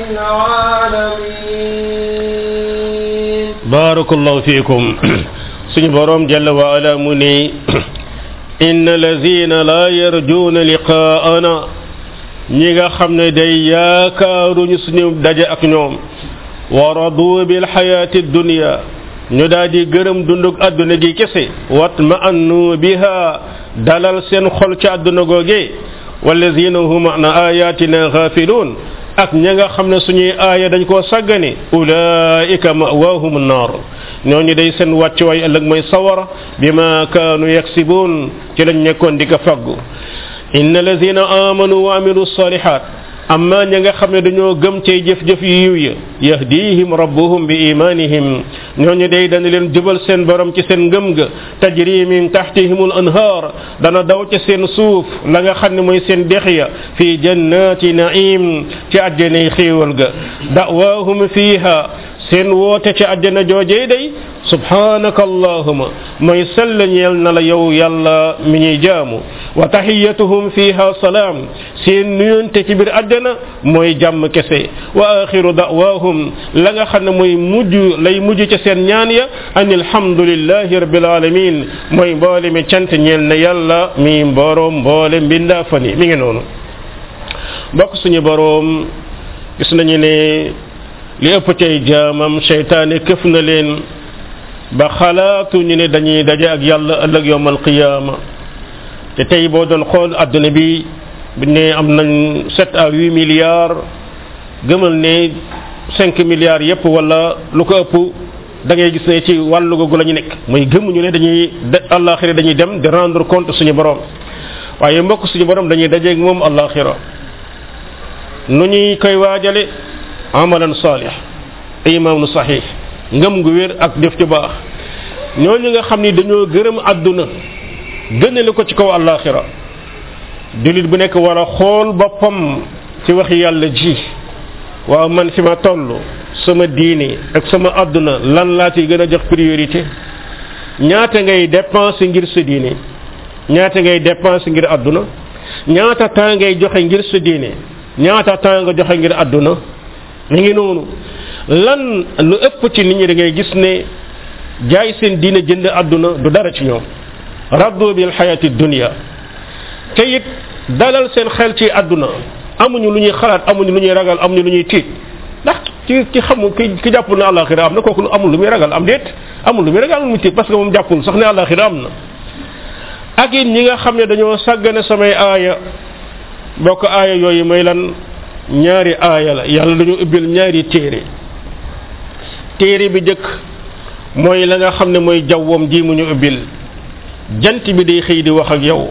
Speaker 2: العالمين
Speaker 1: بارك الله فيكم سني بروم جل وعلا مني إن الذين لا يرجون لقاءنا ñi nga xam ne day yaakaaruñu suñu daje ak ñoom wa radu bil hayati dunya ñu daal di gërëm dundug àdduna gi kese watma annu biha dalal seen xol ci àdduna googe wallazina hum an ayatina ghafilun ak ña nga xam ne suñuy aaya dañ koo sàggane ulaika ma'wahum an-nar ñooñu day seen wàccuwaay ëllëg mooy sawara bima kaanu yaksibun ci lañ nekkoon di ko faggu inna allazina amanu wa amilu salihat amma ña nga xam ne dañoo gëm cay jëf-jëf yu yiw ya yahdihim rabbuhum bi imanihim ñooñu day dana leen jubal seen borom ci seen ngëm ga tajri min tahtihimul anhar dana daw ci seen suuf la nga xam ne mooy seen dex ya fi jannati naim ci àjjanay xéewal ga da'waahum fiha seen woote ci àjjana joojee day subhanaka allahuma mooy sell ñeel na la yow yàlla mi ñuy jaamu wa tahiyatuhum fiha salaam seen nuyonte ci biir àjjana mooy jàmm kese wa axiru da'waahum la nga xam ne mooy lay mujj ca seen ñaan ya an alhamdulillahi rabbil alamin mooy mboole mi cant ñeel na yàlla mi boroom mboole mbindaa fani mi ngi noonu bokk suñu boroom gis nañu ne li ëpp cay jaamam seytaane këf na leen ba xalaatu ñu ne dañuy daje ak yàlla ëllëg yawmal qiyaama te tey boo doon xool adduna bi buñ ne am nañ 7 à 8 milliards gëmal ne 5 milliards yépp wala lu ko ëpp da ngay gis ne ci wàllu googu la ñu nekk mooy gëmuñu ne dañuy àllaaxira dañuy dem di rendre compte suñu borom waaye mbokk suñu borom dañuy dajeeg moom àllaaxira nu ñuy koy waajale amalan salih imaanu sahih ngëm gu wér ak def ci baax ñooñu nga xam ni dañoo gërëm àdduna gënale ko ci kaw àllaaxira jullit bu nekk war a xool boppam ci waxi yàlla ji waaw man fi ma toll sama diine ak sama àdduna lan laa ci gën a jox priorité ñaata ngay dépenser ngir sa diine ñaata ngay dépenser ngir àdduna ñaata temps ngay joxe ngir sa diine ñaata temps nga joxe ngir àdduna mi ngi noonu lan lu ëpp ci nit ñi da ngay gis ne jaay seen diine jënd àdduna du dara ci ñoom raddu bil hayati dunya te it dalal seen xel ci àdduna amuñu lu ñuy xalaat amuñu lu ñuy ragal amuñu lu ñuy tiit ndax ki xamul ki jàppul ne àllaaxira am na kooku amul lu muy ragal am déet amul lu muy ragal amul lu muy tiit parce que moom jàppul sax ne àllaaxira am na ak it ñi nga xam ne dañoo sàggane samay aaya bokk aaya yooyu mooy lan ñaari aaya la yàlla dañu ubbil ñaari téere bi jëkk mooy la nga xam ne mooy jawwam ji mu ñu ubbil jant bi day xëy di wax ak yow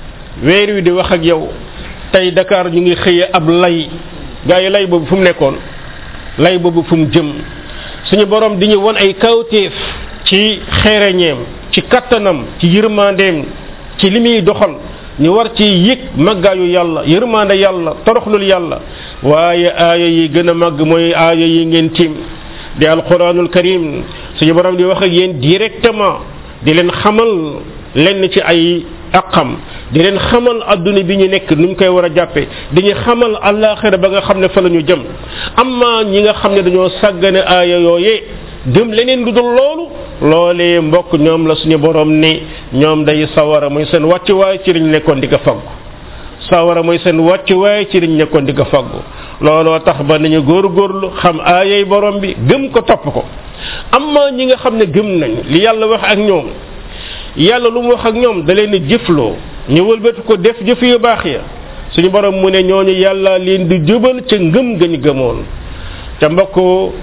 Speaker 1: weer wi di wax ak yow tey Dakar ñu ngi xëye ab lay gaa yi lay boobu fu mu nekkoon lay boobu fu mu jëm suñu borom di ñu won ay kawteef ci xereñeem ci kattanam ci yërmandeem ci li muy doxal ñu war ci yëg màggaayu yàlla yërmande yàlla toroxlul yàlla waaye aaya yi gën a màgg mooy aaya yi ngeen tiim di alquranul karim suñu borom di wax ak yéen directement di leen xamal lenn ci ay aqam di leen xamal adduna bi ñu nekk nu ñu koy war a jàppe dañuy xamal àllaaxira ba nga xam ne fa la ñu jëm amma ñi nga xam ne dañoo sàggane aaya yooyee gëm leneen lu dul loolu loolee mbokk ñoom la suñu borom ni ñoom day sawara mooy seen wàccuwaay ci liñ nekkoon di ko faggu sawara mooy seen wàccuwaay ci liñ nekkoon di ko faggu looloo tax ba nañu góorgóorlu xam aayay borom bi gëm ko topp ko amma ñi nga xam ne gëm nañ li yàlla wax ak ñoom yàlla lu mu wax ak ñoom da leen jëfloo ñu wëlbati ko def jëf yu baax ya suñu borom mu ne ñooñu yàlla leen di jubal ca ngëm gañ gëmoon te mbokk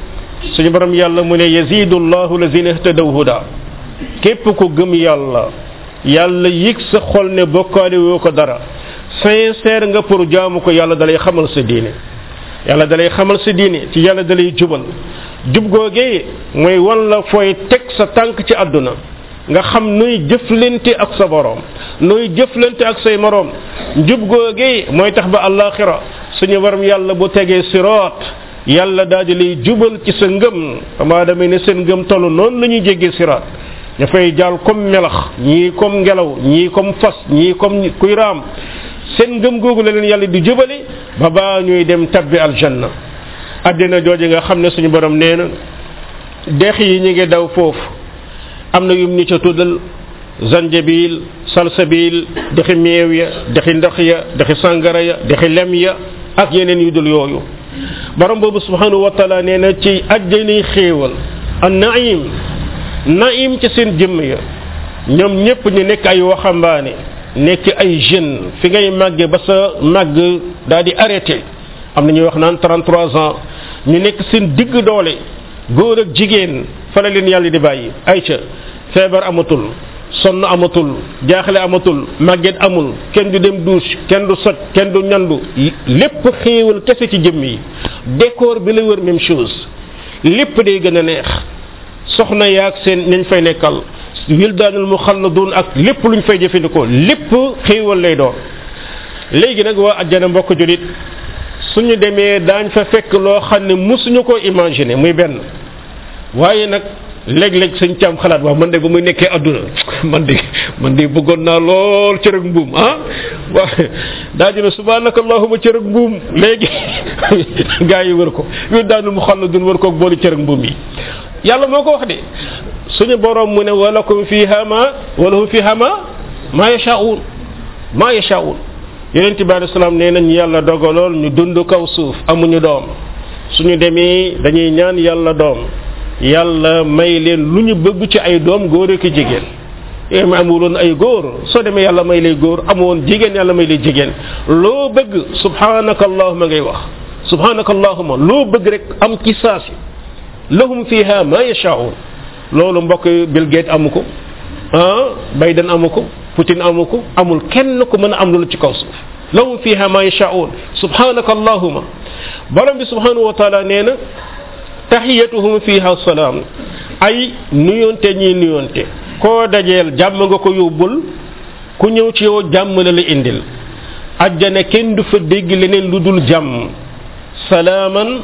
Speaker 1: suñu borom yàlla mu ne yazidu llahu lazina ihtadaw huda képp ku gëm yàlla yàlla yëg sa xol ne bokkaale woo ko dara sincère nga pour jaamu ko yàlla dalay xamal sa diine yàlla dalay xamal sa diine ci yàlla dalay jubal jub googee mooy wan la fooy teg sa tànk ci àdduna nga xam nooy jëflante ak sa borom nooy jëflante ak say moroom jub googee mooy tax ba àllaaxira suñu borom yàlla bu tegee siraat yàlla daal di lay jubal ci sa ngëm amaa damay ne seen ngëm tollu noonu la ñuy jéggee siraat ña fay jaal comme melax ñii comme ngelaw ñii comme fas ñii comme kuy raam seen ngëm googu la leen yàlla di jubale ba baa ñuy dem tabbi aljanna àddina jooje nga xam ne suñu borom nee na dex yi ñu ngi daw foofu am na yum ñu ca tuddal zanjabil salsabil dexi meew ya dexi ndox ya dexi sàngara ya dexi lem ya ak yeneen yu dul yooyu borom boobu subhanahu wa taala nee na ci àjjani xéewal an naim ci seen jëmm ya ñoom ñëpp ñu nekk ay waxambaane nekk ay jeunes fi ngay màggee ba sa màgg daal di arrêté am na ñuy wax naan 33 ans ñu nekk seen digg doole góor ak jigéen fa la leen yàlla di bàyyi ayca feebar amatul sonn amatul jaaxle amatul màgget amul kenn du dem douche kenn du soj kenn du ñandu lépp xéewal kese ci jëmm yi décor bi la wër même chose lépp day gën a neex soxna yaag seen nañ fay nekkal wildaanul muxalladun ak lépp luñ fay jëfandikoo lépp xéewal lay doon léegi nag waa àjjana mbokk julit suñu demee daañ fa fekk loo xam ne musuñu ko imaginer muy benn waaye nag léeg-léeg suñ càmm xalaat waaw man de ba muy nekkee adduna man de bëggoon naa lool cërëg mbuum waaw daa dina subhanaka allahumma cërëg mbuum léegi gaa yi wër ko wildaanul muxalladun wër ko ak boolu cërëg mbuum yi yàlla moo ko wax de suñu borom mu ne walahum fiha ma yashaa'un yonent bi alayhi salaam nee nañ yàlla dogalool ñu dund kaw suuf amuñu doom suñu demee dañuy ñaan yàlla doom yàlla may leen lu ñu bëgg ci ay doom góor ak jigéen ma amuloon ay góor soo demee yàlla may lay góor amoon jigéen yàlla may lay jigéen loo bëgg subhanaka allahumma ngay wax subhanaka allahumma loo bëgg rek am ci saasi lahum fiha ma yashaa'un loolu mbokk Bill Gates amu ko Biden amu ko Putin amu ko amul kenn ku mën a am loolu ci kaw suuf lahum fiha ma yashaa'un subhanaka allahumma borom bi subhanahu wa taala nee na tahiyatuhum fiha salaam ay nuyonte ñi nuyonte koo dajeel jàmm nga ko yóbbul ku ñëw ci yow jàmm la la indil ajjana kenn du fa dégg leneen lu dul jàmm salaaman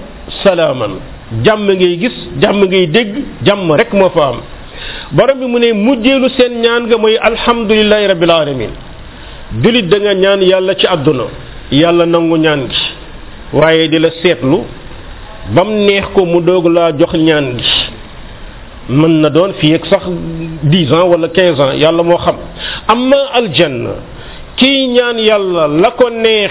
Speaker 1: jàmm ngay gis jàmm ngay dégg jàmm rek moo fa am borom bi mu ne mujjeelu seen ñaan nga mooy alhamdulillahi rabbil alamin julit da nga ñaan yàlla ci àdduna yàlla nangu ñaan gi waaye di la seetlu bam neex ko mu doog laa jox ñaan gi mën na doon fii ak sax 10 ans wala 15 ans yàlla moo xam amma aljanna kii ñaan yàlla la ko neex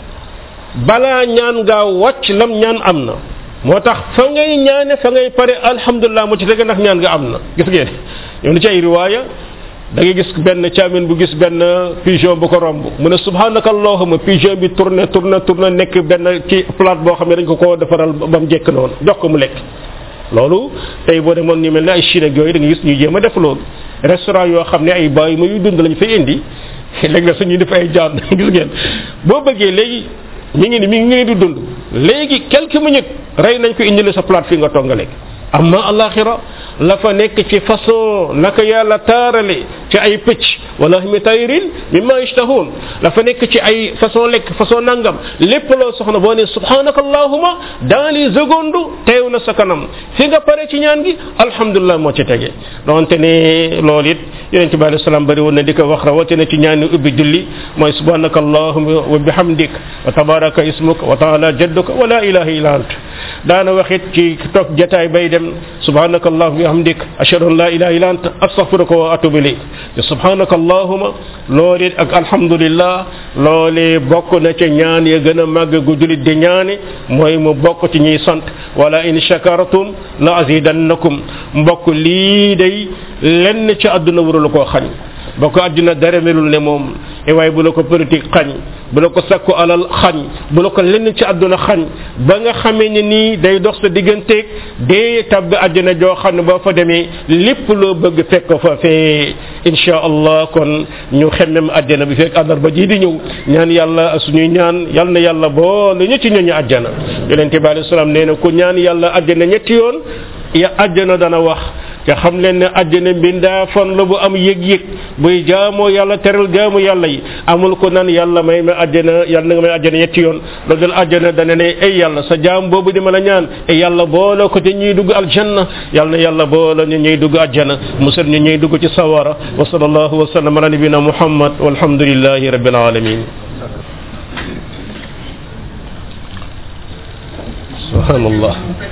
Speaker 1: balaa ñaan ngaa wàcc lam ñaan am na moo tax fa ngay ñaane fa ngay pare alhamdulilah mu ci dëgg ndax ñaan nga am na gis ngeen yow ni ci ay riwaaya da ngay gis benn caamin bu gis benn pigeon bu ko romb mu ne subhanaka allahumma pigeon bi tourné nekk benn ci plate boo xam ne dañ ko defaral ba mu jekk noonu jox ko mu lekk loolu tey boo demoon ñu mel ne ay Chine ak yooyu da nga gis ñu jéem a def loolu restaurant yoo xam ne ay bàyyi ma yu dund lañu fay indi léegi nag suñuy def ay jaan gis ngeen boo bëggee léegi mi ngi di dund léegi quelques minutes rey nañ ko indil sa plate fi nga toog nga lekk amma alaxira la fa nekk ci façon naka yàlla taarale ci ay pëcc wala mi tayrin mimma yashtahun la fa nekk ci ay façon lekk façon nangam lépp loo soxna boo ne subhanaka allahumma dans les secondes teew na sa kanam fi nga pare ci ñaan gi alhamdulilah moo ci tege donte ne loolu it yonent bi alayhi salaam bari woon na di ko wax rawatina ci ñaani ubbi julli mooy subhanaka allahumma wa bihamdik wa tabaraka ismuk wa taala jadduka wa la ilaha illa ant daana waxit ci toog jataay bay dem subhanaka allahumma wa bihamdik ashhadu an la ilaha illa ant astaghfiruka wa atubu ilayk subhanaka allahumma loolu ak alhamdulillah loole bokk na ca ñaan ya gën a màgg gu julit di ñaane mooy mu bokk ci ñuy sant wala in shakartum la azidannakum mbokk lii day lenn ci àdduna warul koo xañ bokk àdduna dara melul ne moom waaye bu la ko politique xañ bu la ko sakku alal xañ bu la ko lenn ci àdduna xañ ba nga xamee ne nii day dox sa digganteeg dee tabb àdduna joo xam ne boo fa demee lépp loo bëgg fekk ko fa fee insha allah kon ñu xemmem àjjana bi fekk àllarba ji di ñëw ñaan yàlla suñuy ñaan yal na yàlla boole ñu ci ñooñu àjjana yonente bi alayhi salaam nee na ku ñaan yàlla àjjana ñetti yoon ya àjjana dana wax te xam leen ne àjjana mbindaa fan la bu am yëg-yëg buy jaamoo yàlla teral jaamu yàlla yi amul ko naan yàlla may ma àjjana yàlla na nga may àjjana ñetti yoon loolu dal àjjana dana ne ay yàlla sa jaam boobu di ma la ñaan ay yàlla boole ko te ñuy dugg aljanna yàlla na yàlla boole ñu ñuy dugg àjjana musal ñu ñuy dugg ci sawara wa sallallahu wa sallam ala nabina muhammad walhamdulillahi rabbil alamin subhanallah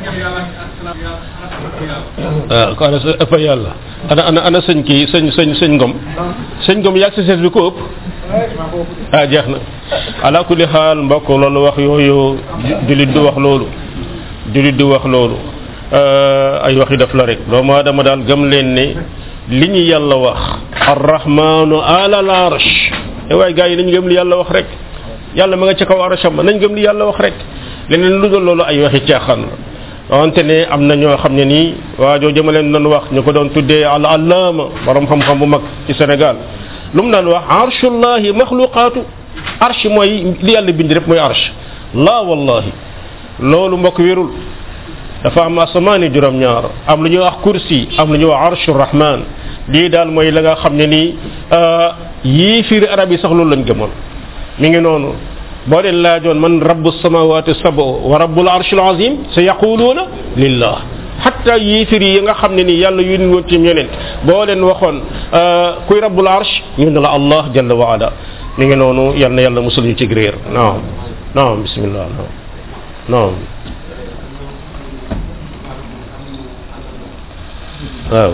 Speaker 1: ko ana ëpp yàlla ana sëñ kii sëñ ngom yàgg si sees bi ko ëpp jeex na ala kulli xaal mbokk loolu wax yooyu jullit du wax loolu ay waxi def la rek doomu aadama daal gëm leen ne li ñu yàlla wax arrahmanu ala al arsh waaye gars yi nañ gëm li yàlla wax rek yàlla ma nga ci kaw arsham nañ gëm li yàlla wax rek leneen lu dul loolu ay waxi caaxaan la wante ne am na ñoo xam ne nii waa joo jëma leen doon wax ñu ko doon tuddee al allaama borom xam-xam bu mag ci Sénégal lu mu daan wax arshullahi maxluqaatu arsh mooy li yàlla bind rek mooy arsh laa wallahi loolu mbokk wérul dafa am asamaani juróom-ñaar am lu ñuy wax kursi am lu ñuy wax arshu rahman lii daal mooy la nga xam ne nii yii fiiri arab yi sax loolu lañ gëmoon mi ngi noonu boo leen laajoon man rabbu samawati sab'u wa rabbul arshil azim sa yaquluuna lillah hatta yéefir yi nga xam ne ni yàlla yónni woon ci ñeneen boo leen waxoon kuy rabbul arsh ñu ne la allah jalla wa ala mi ngi noonu yal na yàlla musul ñu ci réer naam bismillah naam waaw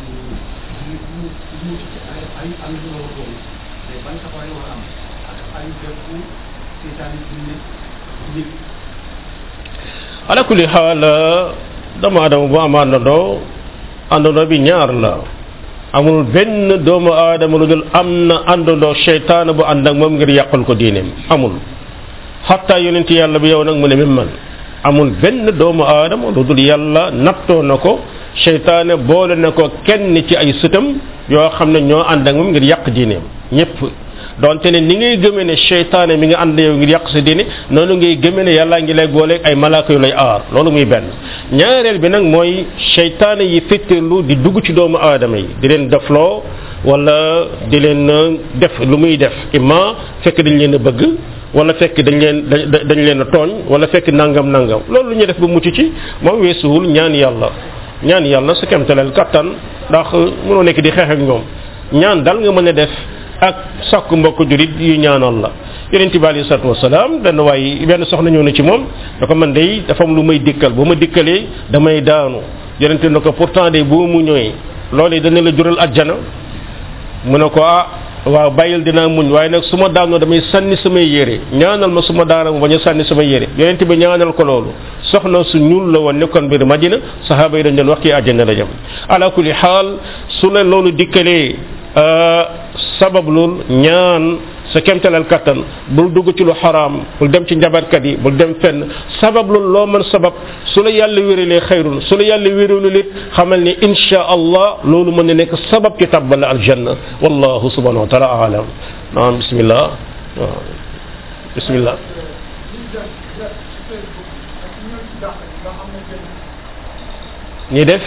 Speaker 1: ala kulli xaal doomu aadama bu am àndandoo bi ñaar la amul benn doomu aadama lu dul am na àndandoo seytaane bu ànd ak moom ngir yàqal ko diineem amul xatta yonent yàlla bi yow nag mu ne même man amul benn doomu aadama lu dul yàlla nattoo na ko seytaane boole na ko kenn ci ay sëtam yoo xam ne ñoo ànd ak moom ngir yàq diineem ñëpp donte ne ni ngay gëmee ne seytaane mi nga ànd yow ngir yàq sa diine noonu ngay gëmee ne yàllaa ngi lay booleeg ay malaaka yu lay aar loolu muy benn ñaareel bi nag mooy seytaane yi fetteerlu di dugg ci doomu aadama yi di leen defloo wala di leen def lu muy def imma fekk dañ leen a bëgg wala fekk dañ leen a tooñ wala fekk nangam loolu lu ñuy def ba mucc ci moom weesuwul ñaan yàlla sa kemtaleel kattan ndax mënoo nekk di xeex ak ñoom ñaan dal nga mën a def ak sakku mbokk julit yu ñaanal la yonent bi alayhi salaatu wasalaam benn soxna ñëw na ci moom da ko man day dafa am lu may dikkal bu ma dikkalee damay daanu yonent na ko pourtant de boo mu ñëwee loolu dana la jural ajjana mu ne ko waaw bàyyil dinaa muñ waaye nag su ma daanoo damay sànni samay yére ñaanal ma su ma daana mu bañ a sànni samay yére yonent bi ñaanal ko loolu soxna su ñuul la woon nekkoon biir Madina sahaaba yi dañ doon wax kii àjjana la jëm ala kulli xaal su la loolu dikkalee sabab lool ñaan sa kemtalal kattan bul dugg ci lu xaraam bul dem ci njabarkat yi bul dem fenn sabab lool loo mën sabab su la yàlla wéralee xayrun su la yàlla wéralul it xamal ni insha allah loolu mën na nekk sabab ci tabbal aljanna wallahu subhanahu wa taala alam naam bismillah bismillah ñi def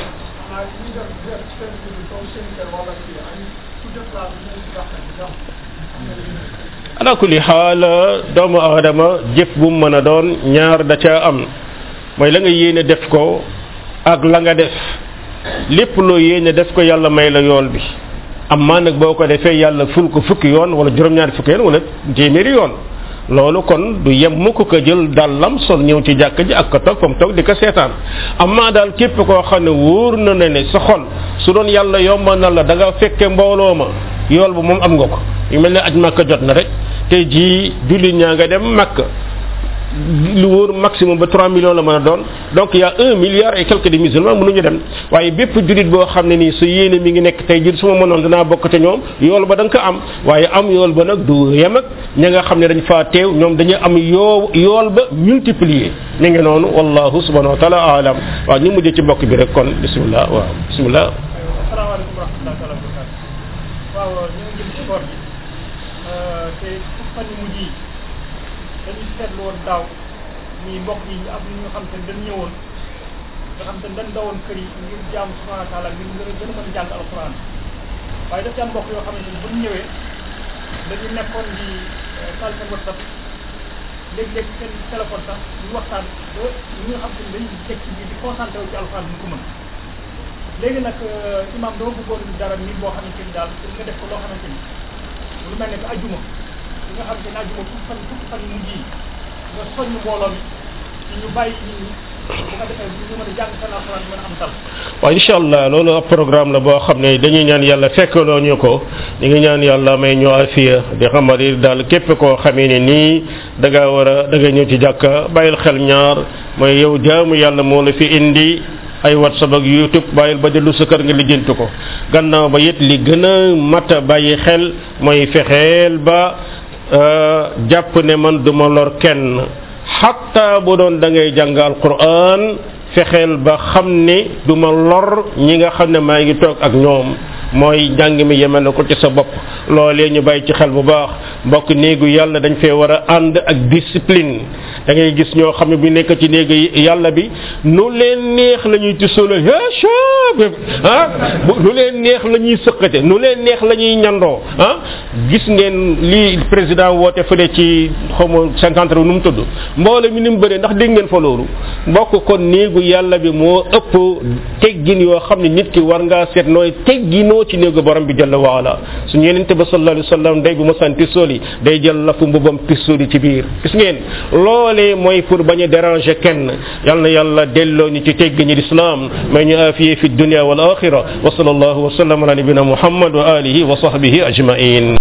Speaker 1: ala kulli xaal doomu aadama jëf bu mu mën a doon ñaar da ca am mooy la nga yéene def ko ak la nga def lépp loo yéene def ko yàlla may la yool bi amma nag boo ko defee yàlla ful ko fukki yoon wala juróom-ñaari fukki yoon wala téeméeri yoon loolu kon du yem mukk ko jël dàllam sol ñëw ci jàkk ji ak ko toog fam toog di ko seetaan amma daal képp koo xam ne wóor na ne sa xol su doon yàlla yomba na la da nga fekke mbooloo ma yool bu moom am nga ko yu mel ne aj Makka jot na rek tey jii julli ñaa nga dem Makka lu wóor maximum ba 3 millions la mën a doon donc y a 1 milliard et quelques de musulmans mënuñu dem waaye bépp jullit boo xam ne nii sa yéene mi ngi nekk tey jii su ma mënoon danaa bokk te ñoom yool ba da nga ko am waaye am yool ba nag du yem ak ña nga xam ne dañ faa teew ñoom dañuy am yool ba multiplier mi ngi noonu wallahu subhanahu wa taala alam waaw ñu mujjee ci mbokk bi rek kon bismillah waaw bismillah.
Speaker 3: asalaamaaleykum wa rahmatulah waaw ñu ngi jëm ci koor gi te fan yu mujj yi dañu seetlu woon daaw ni mbokk yi am ñu xam te dañ ñëwoon nga xam te dañ dawoon kër yi ngir jaamu subhanahu wa taala ngir gën a mën a jàng alquran waaye daf ci am mbokk yoo xamante ni bu ñu ñëwee dañu nekkoon di taal seen WhatsApp léeg-léeg seen téléphone sax ñu waxtaan ba ñi nga xam te ni dañuy teg ci biir di concentré wu ci alquran bi ñu ko mën léegi nag imam dama bëggoon dara nit boo xamante ni daal nga def ko loo xamante ni lu mel ne que ajjuma li nga xamante ni ajjuma fukki fan yu mujj yi nga soññ mbooloo mi ñu bàyyi nit ñi bu ko defee ñu mën a jàng seen alxuraan mën a am tal.
Speaker 1: waaw incha allah loolu ab programme la boo xam ne dañuy ñaan yàlla fekkaloo ñu ko ñu ngi ñaan yàlla may ñu afiya di xamari daal képp koo xamee ne nii da nga ñëw ci jàkka bàyyil xel ñaar mooy yow jaamu yàlla moo la fi indi ay WhatsApp ak YouTube bàyyil ba dellu sa kër nga lijjanti ko gannaaw ba it li gën a mat a bàyyi xel mooy fexeel ba jàpp ne man duma lor kenn xatta bu doon da ngay jàng alquran fexeel ba xam ne duma lor ñi nga xam ne maa ngi toog ak ñoom mooy njàng mi yemel na ko ci sa bopp loolee ñu bàyyi ci xel bu baax mbokk néegu yàlla dañ fee war a ànd ak discipline da ngay gis ñoo xam ne bu nekk ci néegu yàlla bi nu leen neex la ñuy tisolo nu leen neex la ñuy sëqate nu leen neex la ñuy ñandoo gis ngeen li président woote fële ci xawma 50 nu mu tudd mboole mi ni mu bëree ndax dégg ngeen fa loolu mbokk kon néegu yàlla bi moo ëpp teggin yoo xam ne nit ki war ngaa seet nooy tegginoo ci néegu borom bi jalla waala suñu yenente ba sallallahu alayhi wasallam day bu ma san pisoli day jël lafu mbubam pisoli ci biir gis ngeen loolee mooy pour bañ a déranger kenn yal na yàlla delloo ñu ci teggini l'islam may ñu afiye fi dunya wal axira wa sallallahu wa sallam ala nabina muhammad wa alihi wa sahbihi ajmain